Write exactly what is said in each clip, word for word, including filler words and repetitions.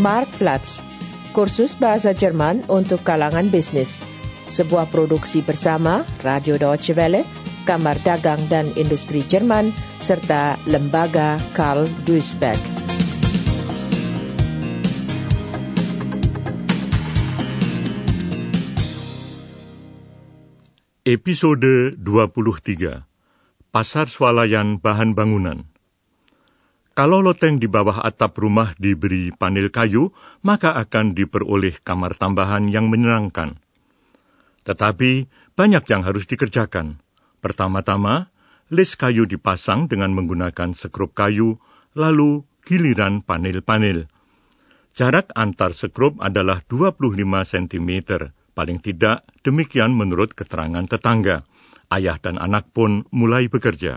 Marktplatz, kursus bahasa Jerman untuk kalangan bisnis. Sebuah produksi bersama Radio Deutsche Welle, Kamar Dagang dan Industri Jerman, serta Lembaga Karl Duisberg. Episode dua puluh tiga. Pasar swalayan bahan bangunan. Kalau loteng di bawah atap rumah diberi panel kayu, maka akan diperoleh kamar tambahan yang menyenangkan. Tetapi banyak yang harus dikerjakan. Pertama-tama, les kayu dipasang dengan menggunakan sekrup kayu, lalu giliran panel-panel. Jarak antar sekrup adalah dua puluh lima sentimeter. Paling tidak, demikian menurut keterangan tetangga. Ayah dan anak pun mulai bekerja.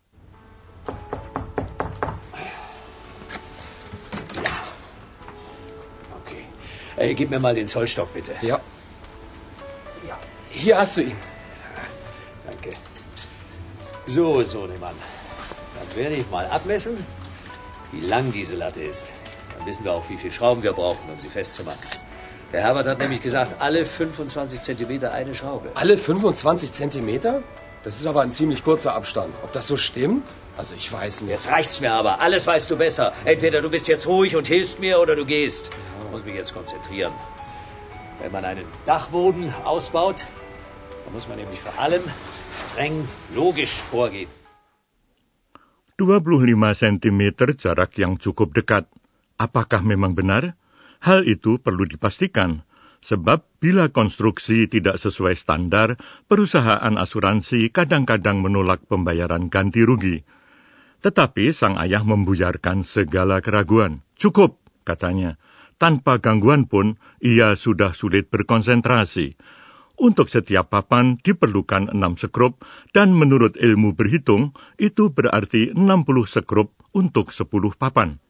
Okay. Äh, gib mir mal den Zollstock, bitte. Ja. Ja. Hier hast du ihn. Danke. So, Sohnemann. Dann werde ich mal abmessen, wie lang diese Latte ist. Dann wissen wir auch, wie viel Schrauben wir brauchen, um sie festzumachen. Der Herbert hat nämlich gesagt, alle fünfundzwanzig Zentimeter eine Schraube. Alle fünfundzwanzig Zentimeter? Das ist aber ein ziemlich kurzer Abstand. Ob das so stimmt? Also ich weiß nicht. Jetzt reicht's mir aber. Alles weißt du besser. Entweder du bist jetzt ruhig und hilfst mir oder du gehst. Ich muss mich jetzt konzentrieren. Wenn man einen Dachboden ausbaut, dann muss man nämlich vor allem streng logisch vorgehen. dua puluh lima sentimeter jarak yang cukup dekat. Apakah memang benar? Hal itu perlu dipastikan, sebab bila konstruksi tidak sesuai standar, perusahaan asuransi kadang-kadang menolak pembayaran ganti rugi. Tetapi sang ayah membuyarkan segala keraguan. Cukup, katanya. Tanpa gangguan pun, ia sudah sulit berkonsentrasi. Untuk setiap papan diperlukan enam sekrup, dan menurut ilmu berhitung, itu berarti enam puluh sekrup untuk sepuluh papan.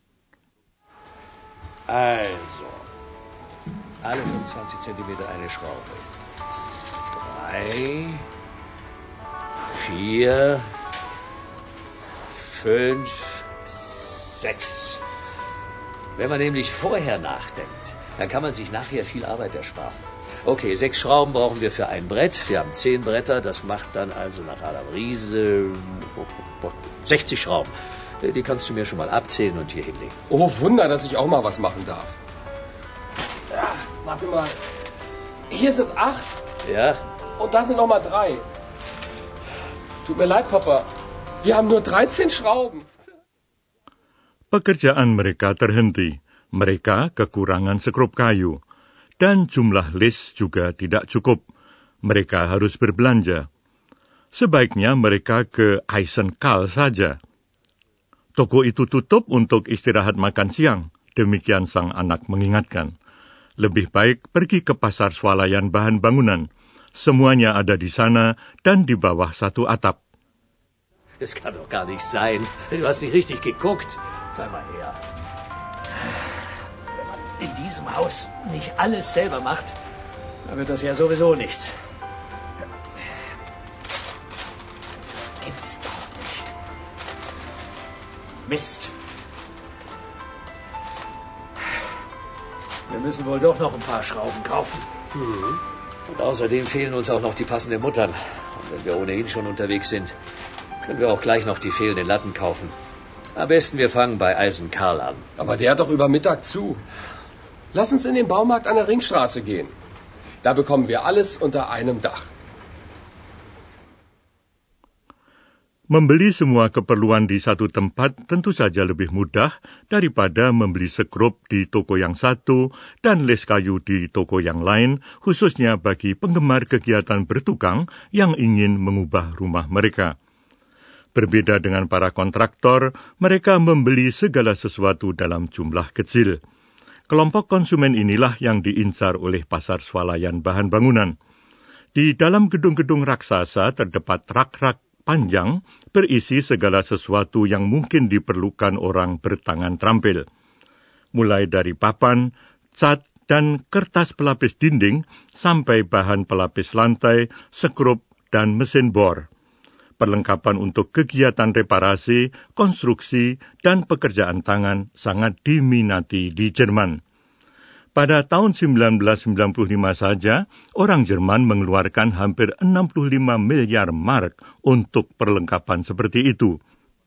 Also, alle fünfundzwanzig Zentimeter eine Schraube. Drei, vier, fünf, sechs. Wenn man nämlich vorher nachdenkt, dann kann man sich nachher viel Arbeit ersparen. Okay, sechs Schrauben brauchen wir für ein Brett. Wir haben zehn Bretter, das macht dann also nach Adam Riese sechzig Schrauben. Die kannst du mir schon mal abzählen und hier hinlegen. Oh, Wunder, dass ich auch mal was machen darf. Ja, warte mal. Hier sind acht. Ja? Und da sind noch mal drei. Tut mir leid, Papa. Wir haben nur dreizehn Schrauben. Pekerjaan mereka terhenti. Mereka kekurangan sekrup kayu. Dan jumlah les juga tidak cukup. Mereka harus berbelanja. Sebaiknya mereka ke Eisenkal saja. Toko itu tutup untuk istirahat makan siang, demikian sang anak mengingatkan. Lebih baik pergi ke pasar swalayan bahan bangunan. Semuanya ada di sana dan di bawah satu atap. Das kann doch gar nicht sein. Du hast nicht richtig geguckt. Zeig mal her. Wenn man in diesem Haus nicht alles selber macht, dann wird das ja sowieso nichts. Das gibt's doch nicht. Mist. Wir müssen wohl doch noch ein paar Schrauben kaufen. Mhm. Und außerdem fehlen uns auch noch die passenden Muttern. Und wenn wir ohnehin schon unterwegs sind, können wir auch gleich noch die fehlenden Latten kaufen. Am besten wir fangen bei Eisenkarl an. Aber der hat doch über Mittag zu. Lass uns in den Baumarkt an der Ringstraße gehen. Da bekommen wir alles unter einem Dach. Membeli semua keperluan di satu tempat tentu saja lebih mudah daripada membeli sekrup di toko yang satu dan les kayu di toko yang lain, khususnya bagi penggemar kegiatan bertukang yang ingin mengubah rumah mereka. Berbeda dengan para kontraktor, mereka membeli segala sesuatu dalam jumlah kecil. Kelompok konsumen inilah yang diincar oleh pasar swalayan bahan bangunan. Di dalam gedung-gedung raksasa terdapat rak-rak panjang berisi segala sesuatu yang mungkin diperlukan orang bertangan terampil. Mulai dari papan, cat, dan kertas pelapis dinding sampai bahan pelapis lantai, sekrup, dan mesin bor. Perlengkapan untuk kegiatan reparasi, konstruksi, dan pekerjaan tangan sangat diminati di Jerman. Pada tahun sembilan belas sembilan puluh lima saja, orang Jerman mengeluarkan hampir enam puluh lima miliar mark untuk perlengkapan seperti itu.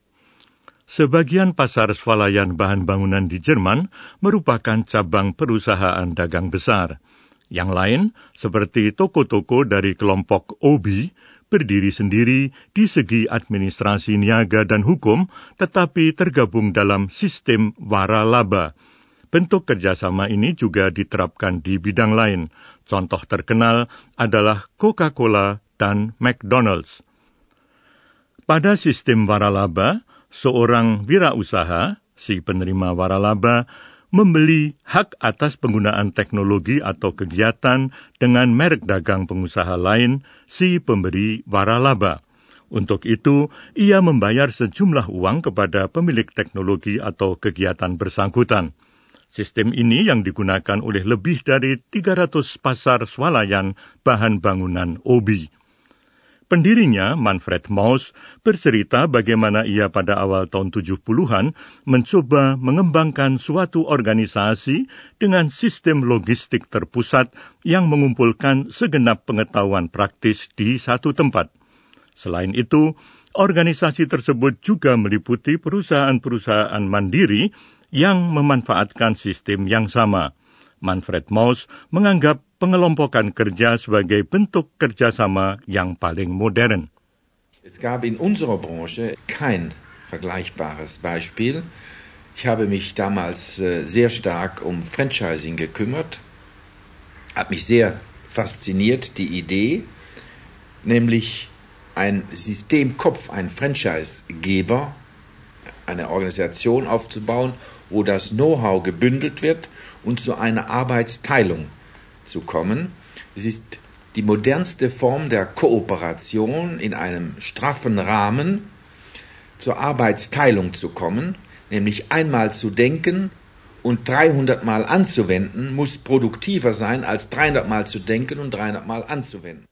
Sebagian pasar swalayan bahan bangunan di Jerman merupakan cabang perusahaan dagang besar. Yang lain, seperti toko-toko dari kelompok O B, berdiri sendiri di segi administrasi niaga dan hukum, tetapi tergabung dalam sistem waralaba. Bentuk kerjasama ini juga diterapkan di bidang lain. Contoh terkenal adalah Coca-Cola dan McDonald's. Pada sistem waralaba, seorang wirausaha, si penerima waralaba, membeli hak atas penggunaan teknologi atau kegiatan dengan merek dagang pengusaha lain, si pemberi waralaba. Untuk itu, ia membayar sejumlah uang kepada pemilik teknologi atau kegiatan bersangkutan. Sistem ini yang digunakan oleh lebih dari tiga ratus pasar swalayan bahan bangunan O B. Pendirinya, Manfred Mauss, bercerita bagaimana ia pada awal tahun tujuh puluhan mencoba mengembangkan suatu organisasi dengan sistem logistik terpusat yang mengumpulkan segenap pengetahuan praktis di satu tempat. Selain itu, organisasi tersebut juga meliputi perusahaan-perusahaan mandiri yang memanfaatkan sistem yang sama. Manfred Mauss menganggap pengelompokan kerja sebagai bentuk kerjasama yang paling modern. Es gab in unserer Branche kein vergleichbares Beispiel. Ich habe mich damals sehr stark um Franchising gekümmert, hat mich sehr fasziniert die Idee, nämlich ein Systemkopf, ein Franchisegeber, eine Organisation aufzubauen, wo das Know-how gebündelt wird und zu einer Arbeitsteilung zu kommen. Es ist die modernste Form der Kooperation in einem straffen Rahmen zur Arbeitsteilung zu kommen, nämlich einmal zu denken und dreihundert Mal anzuwenden, muss produktiver sein als dreihundert Mal zu denken und dreihundert Mal anzuwenden.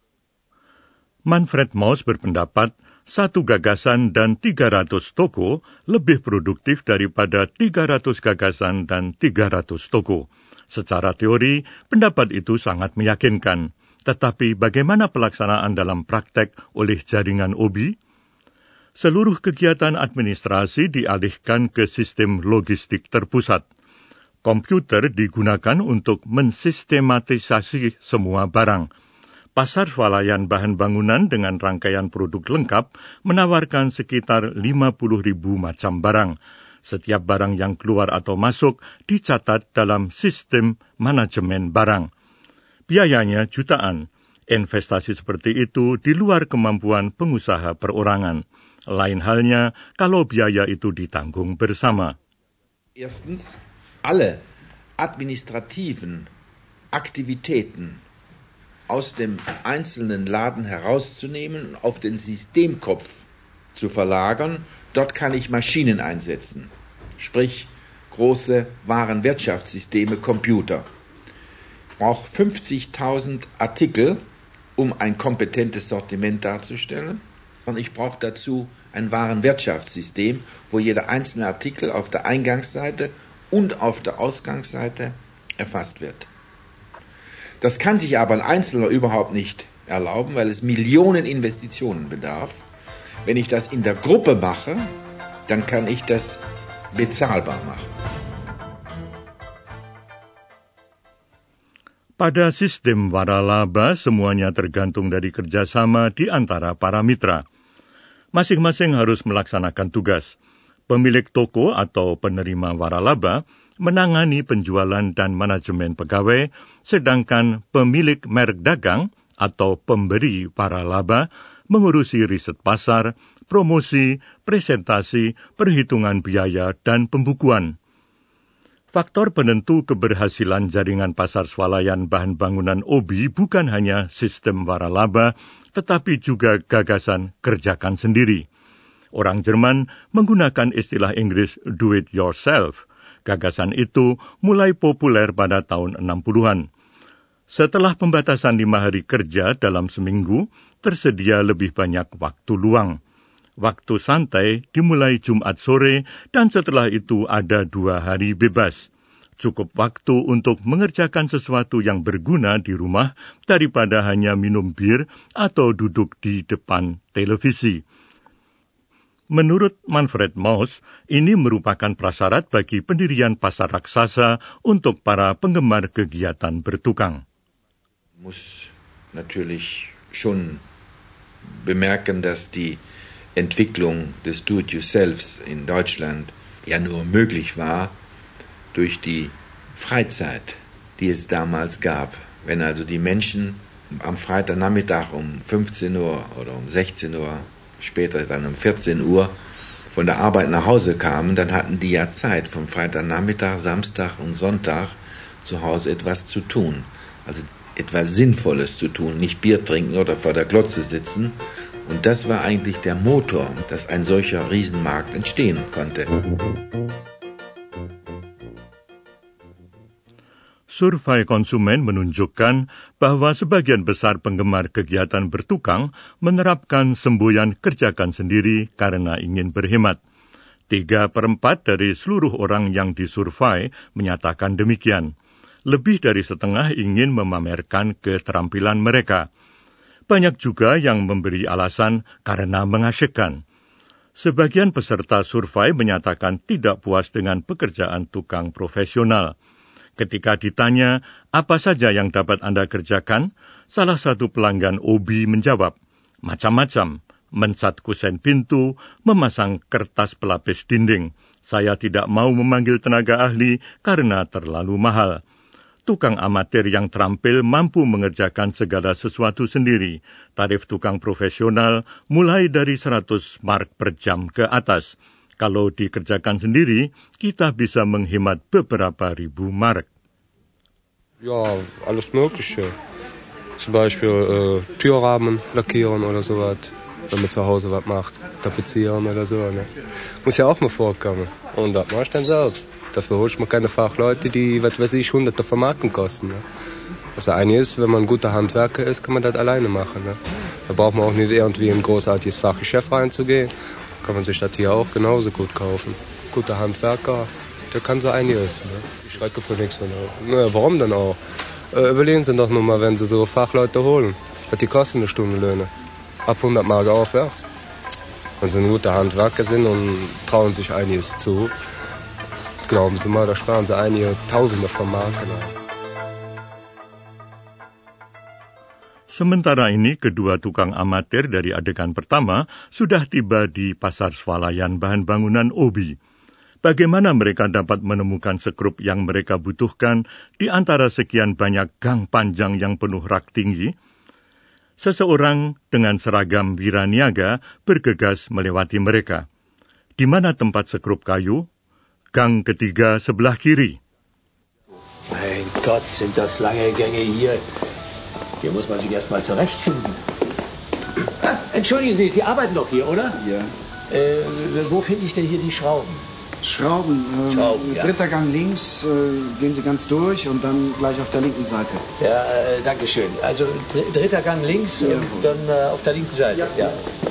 Manfred Mauss berpendapat, satu gagasan dan tiga ratus toko lebih produktif daripada tiga ratus gagasan dan tiga ratus toko. Secara teori, pendapat itu sangat meyakinkan. Tetapi bagaimana pelaksanaan dalam praktek oleh jaringan O B? Seluruh kegiatan administrasi dialihkan ke sistem logistik terpusat. Komputer digunakan untuk mensistematisasi semua barang. Pasar swalayan bahan bangunan dengan rangkaian produk lengkap menawarkan sekitar lima puluh ribu macam barang. Setiap barang yang keluar atau masuk dicatat dalam sistem manajemen barang. Biayanya jutaan. Investasi seperti itu di luar kemampuan pengusaha perorangan. Lain halnya kalau biaya itu ditanggung bersama. Erstens, alle administrativen Aktivitäten aus dem einzelnen Laden herauszunehmen und auf den Systemkopf zu verlagern. Dort kann ich Maschinen einsetzen, sprich große Warenwirtschaftssysteme, Computer. Ich brauche fünfzigtausend Artikel, um ein kompetentes Sortiment darzustellen. Und ich brauche dazu ein Warenwirtschaftssystem, wo jeder einzelne Artikel auf der Eingangsseite und auf der Ausgangsseite erfasst wird. Das kann sich aber ein Einzelner überhaupt nicht erlauben, weil es Millionen Investitionen bedarf. Wenn ich das in der Gruppe mache, dann kann ich das bezahlbar machen. Pada sistem waralaba, semuanya tergantung dari kerjasama di antara para mitra. Masing-masing harus melaksanakan tugas. Pemilik toko atau penerima waralaba menangani penjualan dan manajemen pegawai, sedangkan pemilik merek dagang atau pemberi waralaba mengurusi riset pasar, promosi, presentasi, perhitungan biaya, dan pembukuan. Faktor penentu keberhasilan jaringan pasar swalayan bahan bangunan O B bukan hanya sistem waralaba, tetapi juga gagasan kerjakan sendiri. Orang Jerman menggunakan istilah Inggris do it yourself. Gagasan itu mulai populer pada tahun enam puluhan. Setelah pembatasan lima hari kerja dalam seminggu, tersedia lebih banyak waktu luang. Waktu santai dimulai Jumat sore dan setelah itu ada dua hari bebas. Cukup waktu untuk mengerjakan sesuatu yang berguna di rumah daripada hanya minum bir atau duduk di depan televisi. Menurut Manfred Mauss, ini merupakan prasyarat bagi pendirian pasar raksasa untuk para penggemar kegiatan bertukang. Muss natürlich schon bemerken, dass die Entwicklung des Do-it-yourselfs in Deutschland ja nur möglich war durch die Freizeit, die es damals gab. Wenn also die Menschen am Freitagnachmittag um fünfzehn Uhr oder um sechzehn Uhr, später dann um vierzehn Uhr von der Arbeit nach Hause kamen, dann hatten die ja Zeit, vom Freitagnachmittag, Samstag und Sonntag zu Hause etwas zu tun. Also etwas Sinnvolles zu tun, nicht Bier trinken oder vor der Glotze sitzen. Und das war eigentlich der Motor, dass ein solcher Riesenmarkt entstehen konnte. Survei konsumen menunjukkan bahwa sebagian besar penggemar kegiatan bertukang menerapkan semboyan kerjakan sendiri karena ingin berhemat. Tiga perempat dari seluruh orang yang disurvei menyatakan demikian. Lebih dari setengah ingin memamerkan keterampilan mereka. Banyak juga yang memberi alasan karena mengasyikkan. Sebagian peserta survei menyatakan tidak puas dengan pekerjaan tukang profesional. Ketika ditanya, apa saja yang dapat Anda kerjakan? Salah satu pelanggan O B menjawab, macam-macam, mencat kusen pintu, memasang kertas pelapis dinding. Saya tidak mau memanggil tenaga ahli karena terlalu mahal. Tukang amatir yang terampil mampu mengerjakan segala sesuatu sendiri. Tarif tukang profesional mulai dari seratus mark per jam ke atas. Kalau dikerjakan sendiri, kita bisa menghemat beberapa ribu mark. Ja, alles Mögliche. Zum Beispiel äh, Türrahmen lackieren oder sowas, wenn man zu Hause was macht. Tapezieren oder so. Ne? Muss ja auch mal vorkommen. Und das mache ich dann selbst. Dafür hole ich mir keine Fachleute, die, was weiß ich, hunderte von Marken kosten. Ne? Das eine ist, wenn man ein guter Handwerker ist, kann man das alleine machen. Ne? Da braucht man auch nicht irgendwie in ein großartiges Fachgeschäft reinzugehen. Kann man sich das hier auch genauso gut kaufen. Guter Handwerker, der kann so einiges. Ne? Ich schrecke für nichts. Ne? Naja, warum denn auch? Äh, überlegen Sie doch nur mal, wenn Sie so Fachleute holen. Was die kosten eine Stundenlöhne? Ab hundert Mark aufwärts. Wenn Sie ein guter Handwerker sind und trauen sich einiges zu, glauben Sie mal, da sparen Sie einige Tausende von Marken. Sementara ini, kedua tukang amatir dari adegan pertama sudah tiba di pasar swalayan bahan bangunan O B. Bagaimana mereka dapat menemukan sekrup yang mereka butuhkan di antara sekian banyak gang panjang yang penuh rak tinggi? Seseorang dengan seragam wiraniaga bergegas melewati mereka. Di mana tempat sekrup kayu? Gang ketiga sebelah kiri. Mein Gott, sind das lange Gänge hier. Hier muss man sich erst mal zurechtfinden. Ah, entschuldigen Sie, Sie arbeiten doch hier, oder? Ja. Äh, wo finde ich denn hier die Schrauben? Schrauben. Ähm, Schrauben, ja. Dritter Gang links, äh, gehen Sie ganz durch und dann gleich auf der linken Seite. Ja, äh, danke schön. Also dr- dritter Gang links Ja. und dann äh, auf der linken Seite. Ja. Ja.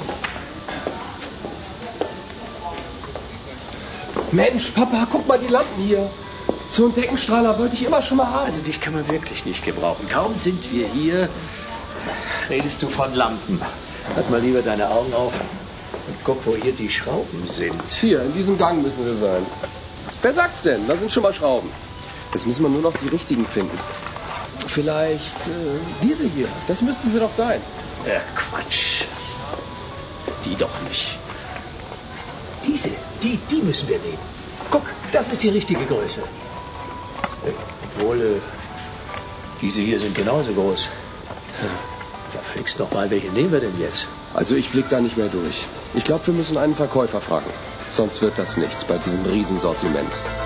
Mensch, Papa, guck mal die Lampen hier. So einen Deckenstrahler wollte ich immer schon mal haben. Also dich kann man wirklich nicht gebrauchen. Kaum sind wir hier, redest du von Lampen. Halt mal lieber deine Augen auf und guck, wo hier die Schrauben sind. Hier, in diesem Gang müssen sie sein. Wer sagt's denn? Da sind schon mal Schrauben. Jetzt müssen wir nur noch die richtigen finden. Vielleicht äh, diese hier. Das müssten sie doch sein. Ja, Quatsch. Die doch nicht. Diese, die, die müssen wir nehmen. Guck, das ist die richtige Größe. Obwohl, äh, diese hier sind genauso groß. Ja, fliegst noch mal, welche nehmen wir denn jetzt? Also ich blick da nicht mehr durch. Ich glaube, wir müssen einen Verkäufer fragen. Sonst wird das nichts bei diesem Riesensortiment.